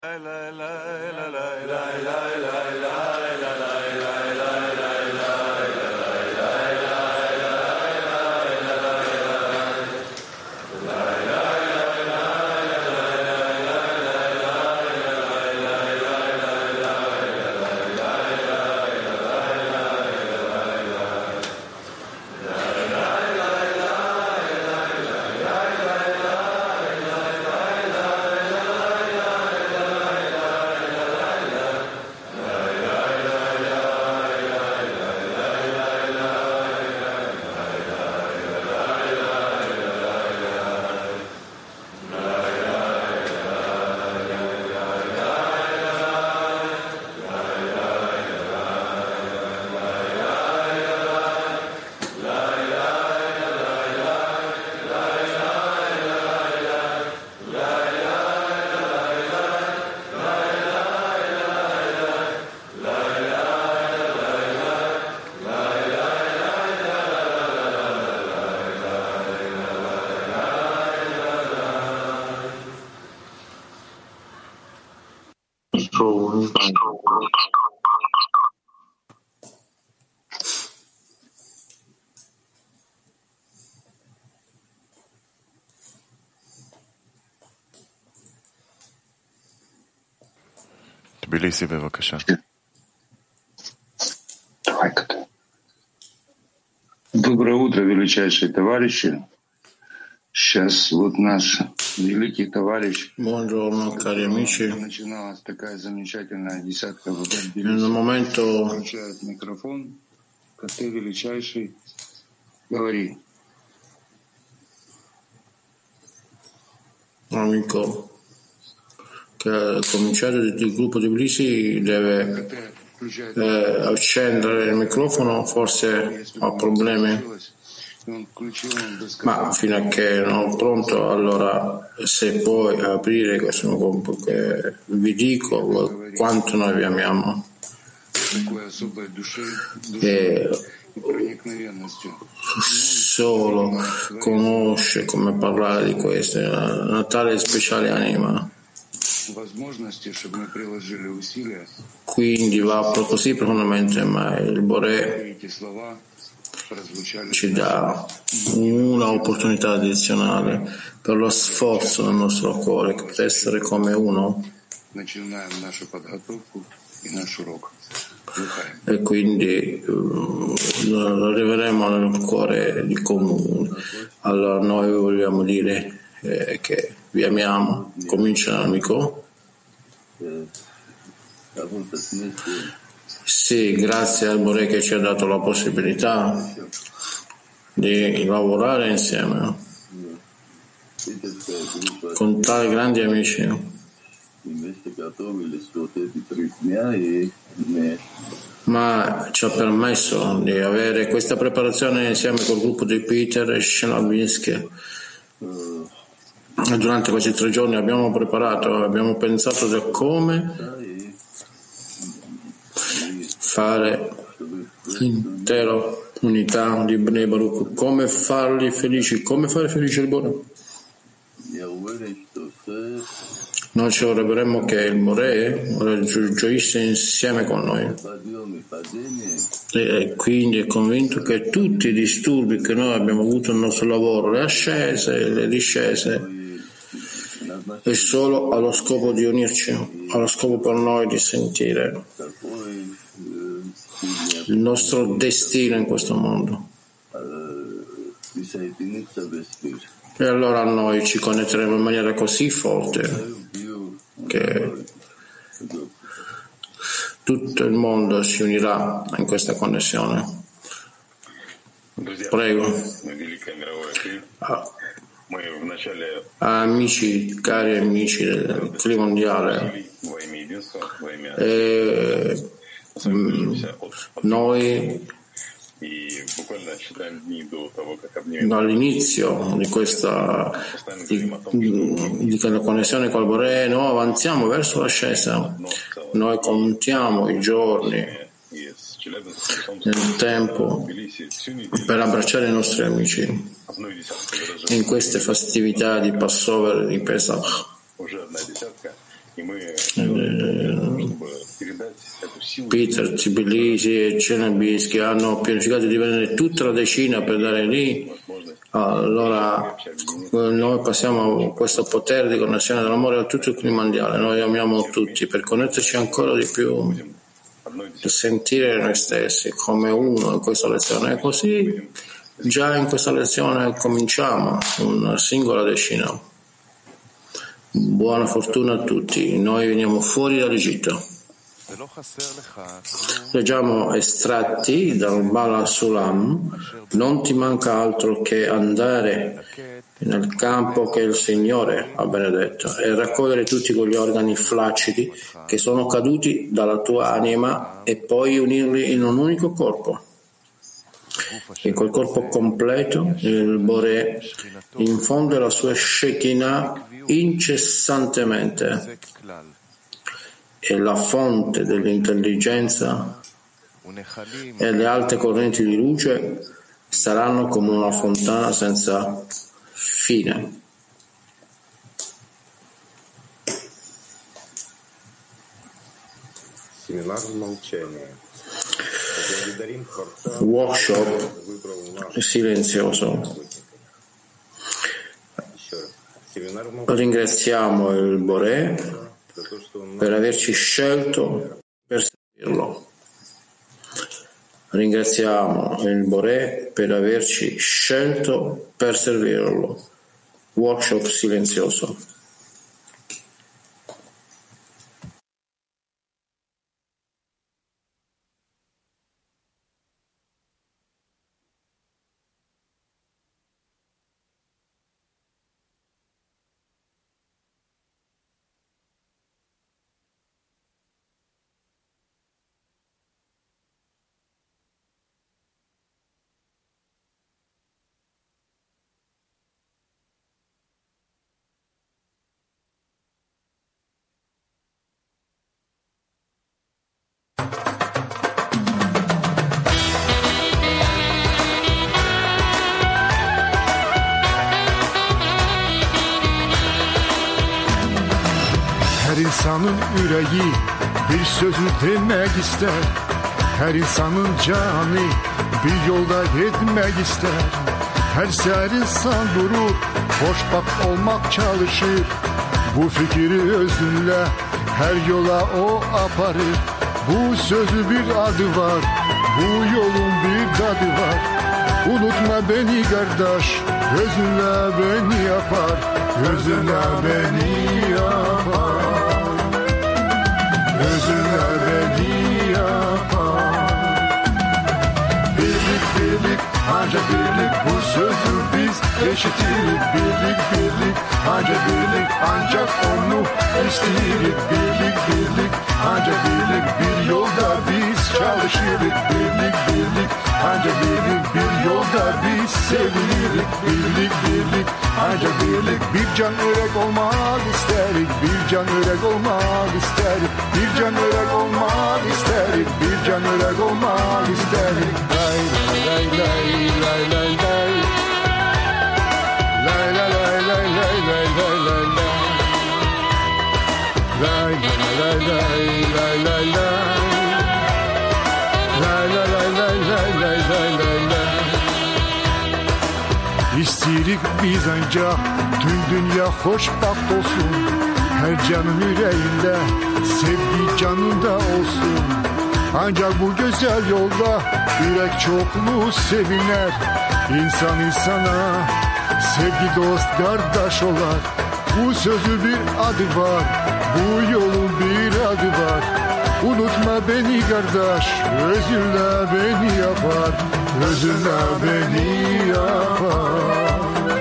תביליסי בבקשה. Доброе утро, величайшие товарищи. Сейчас вот наш великий товарищ. Buongiorno cari amici. Начиналась такая замечательная десятка в Nel momento включает микрофон, как ты величайший, говори. amico che ha cominciato il gruppo di Blisi deve accendere il microfono, forse ha problemi, ma fino a che non è pronto, allora se puoi aprire questo gruppo, che vi dico quanto noi vi amiamo e solo conosce come parlare di questo, una tale speciale anima. Quindi va così profondamente, ma il Boré ci dà una opportunità addizionale per lo sforzo del nostro cuore per essere come uno, e quindi arriveremo nel cuore di comune. Allora noi vogliamo dire che vi amiamo. Comincia l'amico. Sì, grazie al Boré che ci ha dato la possibilità di lavorare insieme con tali grandi amici, ma ci ha permesso di avere questa preparazione insieme col gruppo di Peter e Shinobinsky. Durante questi 3 giorni abbiamo preparato, abbiamo pensato da come fare l'intera unità di Bnei Baruch, come farli felici, come fare felice il Boré. Noi ci vorremmo che il Boré gioisse insieme con noi, e quindi è convinto che tutti i disturbi che noi abbiamo avuto nel nostro lavoro, le ascese, le discese, è solo allo scopo di unirci, allo scopo per noi di sentire il nostro destino in questo mondo. E allora noi ci connetteremo in maniera così forte che tutto il mondo si unirà in questa connessione. Prego. Amici, cari amici del clima mondiale, noi dall'inizio di questa connessione col Boré noi avanziamo verso l'ascesa, noi contiamo i giorni nel tempo per abbracciare i nostri amici in queste festività di Passover e di Pesach. Peter, Tbilisi e Cenebis hanno pianificato di vendere tutta la decina per dare lì. Allora noi passiamo questo potere di connessione dell'amore a tutto il clima mondiale. Noi amiamo tutti per connetterci ancora di più e sentire noi stessi come uno in questa lezione. E così già in questa lezione cominciamo una singola decina. Buona fortuna a tutti. Noi veniamo fuori dall'Egitto. Leggiamo estratti dal Bala Sulam. Non ti manca altro che andare nel campo che il Signore ha benedetto e raccogliere tutti quegli organi flaccidi che sono caduti dalla tua anima e poi unirli in un unico corpo. In quel corpo completo il Boré infonde la sua Shekinah incessantemente e la fonte dell'intelligenza e le alte correnti di luce saranno come una fontana senza fine. Workshop silenzioso. Ringraziamo il Boré per averci scelto per servirlo. Ringraziamo il Boré per averci scelto per servirlo. Workshop silenzioso. Her insanın yüreği bir sözü demek ister. Her insanın canı bir yolda gitmek ister. Her seher insan durur, hoşbak olmak çalışır. Bu fikri özünle her yola o aparır. Bu sözü bir adı var, bu yolun bir tadı var. Unutma beni kardeş, gözünle beni yapar. Gözünle beni yapar. Gözünle beni yapar. Birlik birlik ancak birlik, bu sözü biz eşitirik. Birlik birlik ancak birlik, ancak onu isteyirik. Birlik birlik ancak birlik, bir yolda biz çalışırız. Birlik birlik ancak birlik, bir yolda biz sevinirik. Birlik birlik ancak birlik, bir can örek olmak isterik. Bir can örek olmak isterik. Bir can örek olmak isterik. Bir can örek olmak isterik. Lay lay lay lay lay lay. Lay lay lay lay lay lay lay lay lay. Lay lay lay lay lay lay lay. Lay lay lay lay lay lay lay lay lay. İstirik biz ancak tüm dünya hoşbaht olsun. Her canın yüreğinde sevgi canında olsun. Ancak bu güzel yolda yürek çokluğu seviner. İnsan insana sevgi dost kardeş olar. Bu sözü bir adı var, bu yolun bir adı var. Unutma beni kardeş, özünle beni yapar. Özünle beni yapar.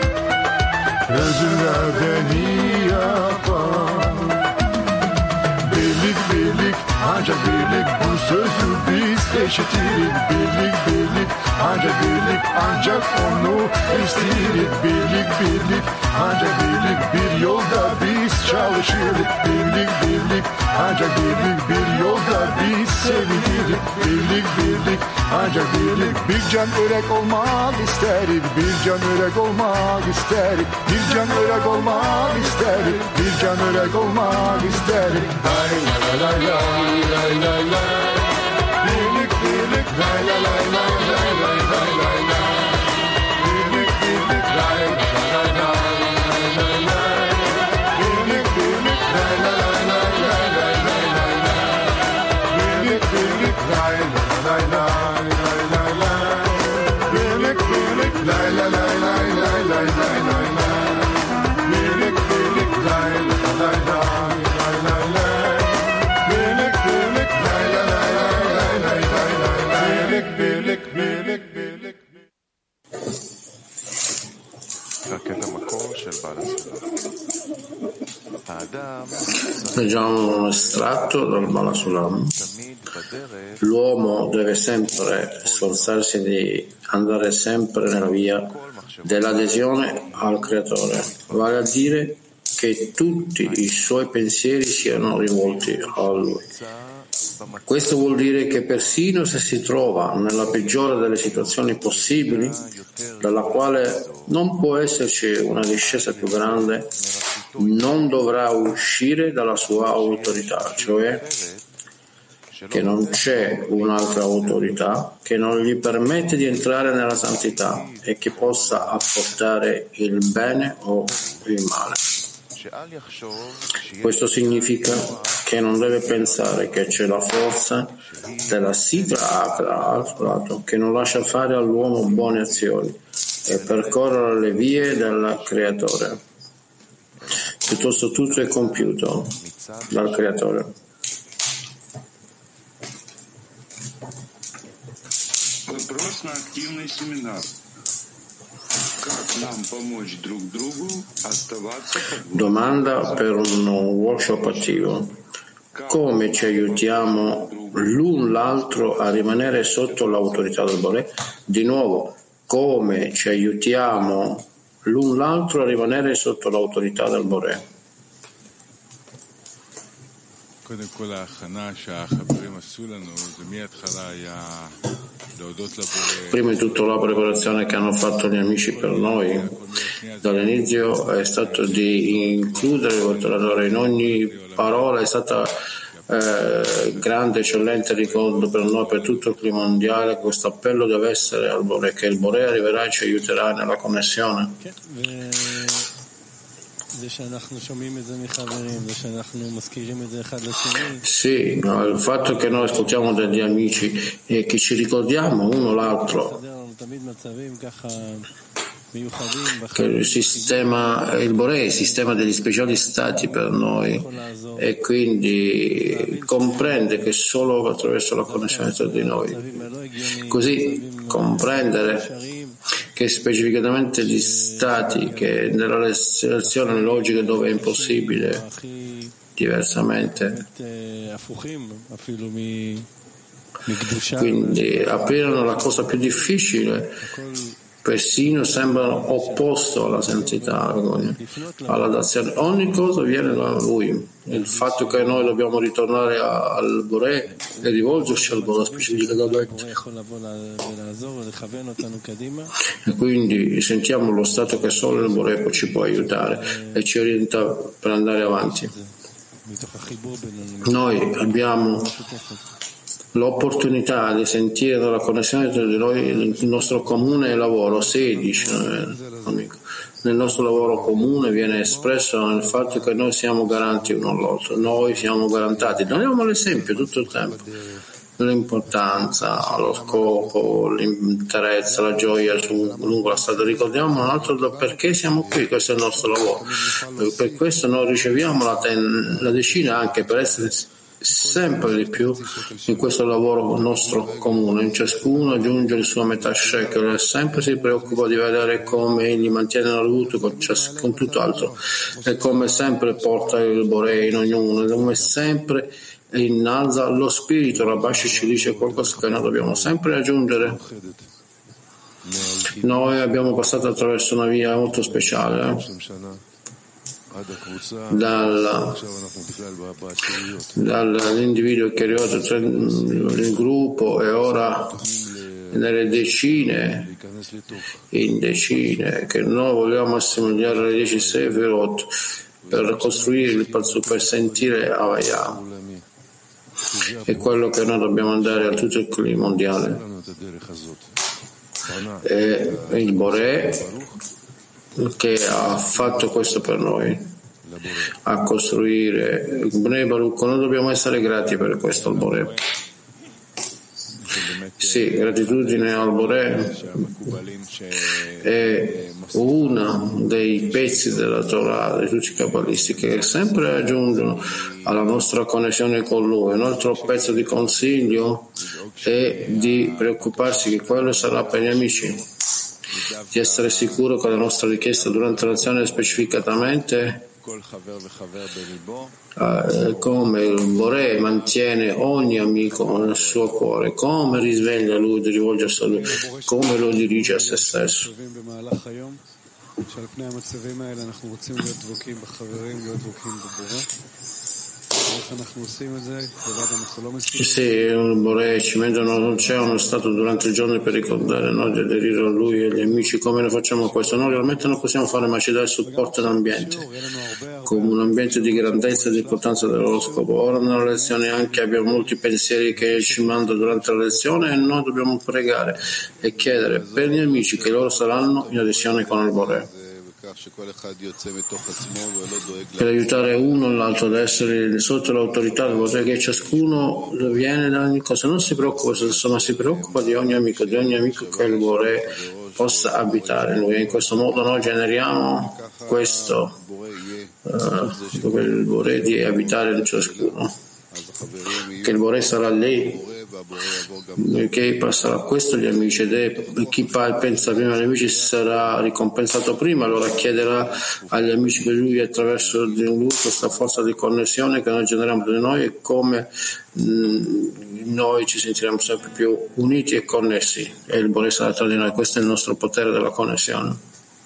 Özünle beni yapar. Birlik birlik ancak birlik, bu sözü biz eşitirik. Birlik birlik ancak birlik, ancak onu isteyirik. Birlik birlik ancak birlik, bir yolda biz çalışırız. Birlik birlik ancak birlik, bir yolda biz sevinirik. Birlik birlik birlik ancak birlik. Bir can örek olmak isterik, bir can örek olmak isterik, bir can örek olmak isterik, bir can örek olmak isterik. Lay lay lay lay lay lay lay. Birlik birlik lay lay lay lay lay lay lay lay lay. Birlik birlik lay lay lay lay lay lay. Birlik birlik lay lay lay lay lay lay lay lay. Birlik birlik lay lay lay lay lay lay. Birlik birlik lay lay lay lay lay lay lay lay lay. Birlik birlik lay lay lay lay lay lay. Birlik birlik lay lay lay lay lay lay lay lay. Birlik birlik birlik. Leggiamo un estratto dal Bala Sulam. L'uomo deve sempre sforzarsi di andare sempre nella via dell'adesione al Creatore, vale a dire che tutti i suoi pensieri siano rivolti a Lui. Questo vuol dire che persino se si trova nella peggiore delle situazioni possibili, dalla quale non può esserci una discesa più grande, non dovrà uscire dalla sua autorità, cioè che non c'è un'altra autorità che non gli permette di entrare nella santità e che possa apportare il bene o il male. Questo significa che non deve pensare che c'è la forza della Sitra Akra al suo lato che non lascia fare all'uomo buone azioni e percorrere le vie del Creatore. Piuttosto tutto è compiuto dal Creatore. Вопрос на активный семинар. Как нам помочь друг другу оставаться под Domanda per un workshop attivo. Come ci aiutiamo l'un l'altro a rimanere sotto l'autorità del Bore? Di nuovo, come ci aiutiamo l'un l'altro a rimanere sotto l'autorità del Bore? Prima di tutto la preparazione che hanno fatto gli amici per noi dall'inizio è stato di includere il Creatore in ogni parola, è stata grande, eccellente ricordo per noi, per tutto il clima mondiale, questo appello deve essere al Bore, che il Bore arriverà e ci aiuterà nella connessione. Sì, il fatto che noi ascoltiamo dagli amici e che ci ricordiamo uno l'altro, che il Bore è il sistema degli speciali stati per noi e quindi comprende che solo attraverso la connessione tra di noi, così comprendere che specificatamente gli stati che nella selezione logica dove è impossibile diversamente, quindi aprirono la cosa più difficile, persino sembrano opposto alla santità, alla dazione. Ogni cosa viene da Lui. Il fatto che noi dobbiamo ritornare al Bore e rivolgerci al Bore specificatamente. E quindi sentiamo lo stato che solo il Bore ci può aiutare e ci orienta per andare avanti. Noi abbiamo l'opportunità di sentire dalla connessione tra di noi il nostro comune lavoro 16 nel nostro lavoro comune viene espresso nel fatto che noi siamo garanti uno all'altro, noi siamo garantati, diamo l'esempio tutto il tempo, l'importanza, lo scopo, l'interesse, la gioia lungo la strada. Ricordiamo un altro perché siamo qui, questo è il nostro lavoro, per questo noi riceviamo la decina anche per essere sempre di più in questo lavoro nostro comune. In ciascuno aggiunge il suo metà shekel e sempre si preoccupa di vedere come egli mantiene la luce con tutto altro e come sempre porta il Bore in ognuno, come sempre innalza lo spirito. Rabashi ci dice qualcosa che noi dobbiamo sempre aggiungere. Noi abbiamo passato attraverso una via molto speciale, dall'individuo che è arrivato nel gruppo e ora nelle decine, in decine, che noi vogliamo assomigliare alle 10 Sefirot per costruire il Palzu, per sentire Havaya. È quello che noi dobbiamo andare a tutto il clima mondiale. E il Boré che ha fatto questo per noi, a costruire il Bnei Baruch. Noi dobbiamo essere grati per questo al Boré. Sì, gratitudine al Boré è uno dei pezzi della Torah di tutti i cabalisti che sempre aggiungono alla nostra connessione con Lui. Un altro pezzo di consiglio è di preoccuparsi che quello sarà per gli amici, di essere sicuro che la nostra richiesta durante l'azione specificatamente come il Boré mantiene ogni amico nel suo cuore, come risveglia lui di rivolgersi a lui, come lo dirige a se stesso. Sì, il Boré ci mette c'è uno stato durante il giorno per ricordare noi di aderire a lui e agli amici. Come lo facciamo questo? Noi realmente non possiamo fare, ma ci dà il supporto all'ambiente come un ambiente di grandezza e di importanza del loro scopo. Ora nella lezione anche abbiamo molti pensieri che ci mandano durante la lezione e noi dobbiamo pregare e chiedere per gli amici che loro saranno in adesione con il Boré, per aiutare uno l'altro ad essere sotto l'autorità del Boré, che ciascuno viene da ogni cosa. Non si preoccupa se stesso, ma si preoccupa di ogni amico che il Boré possa abitare in lui. E in questo modo noi generiamo questo dove il Boré di abitare in ciascuno, che il Boré sarà lì, che passerà questo agli amici, ed è chi pensa prima agli amici sarà ricompensato prima, allora chiederà agli amici che lui attraverso di lui questa forza di connessione che noi generiamo tra di noi, e come noi ci sentiremo sempre più uniti e connessi e il Boré sarà tra di noi. Questo è il nostro potere della connessione.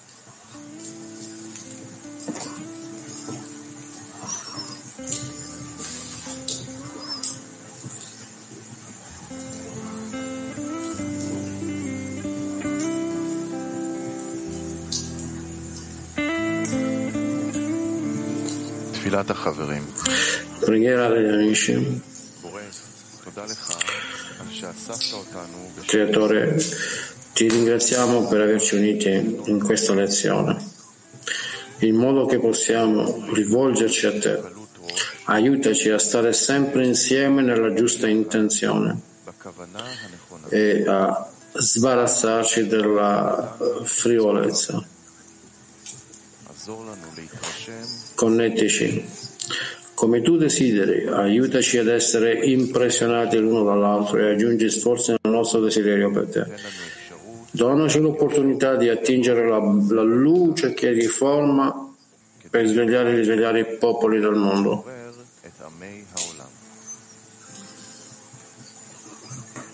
Preghiera degli amici. Creatore, ti ringraziamo per averci uniti in questa lezione, in modo che possiamo rivolgerci a te. Aiutaci a stare sempre insieme nella giusta intenzione e a sbarazzarci della frivolezza. Connettici come tu desideri, aiutaci ad essere impressionati l'uno dall'altro e aggiungi sforzi nel nostro desiderio per te. Donaci l'opportunità di attingere la luce che riforma per risvegliare e risvegliare i popoli del mondo.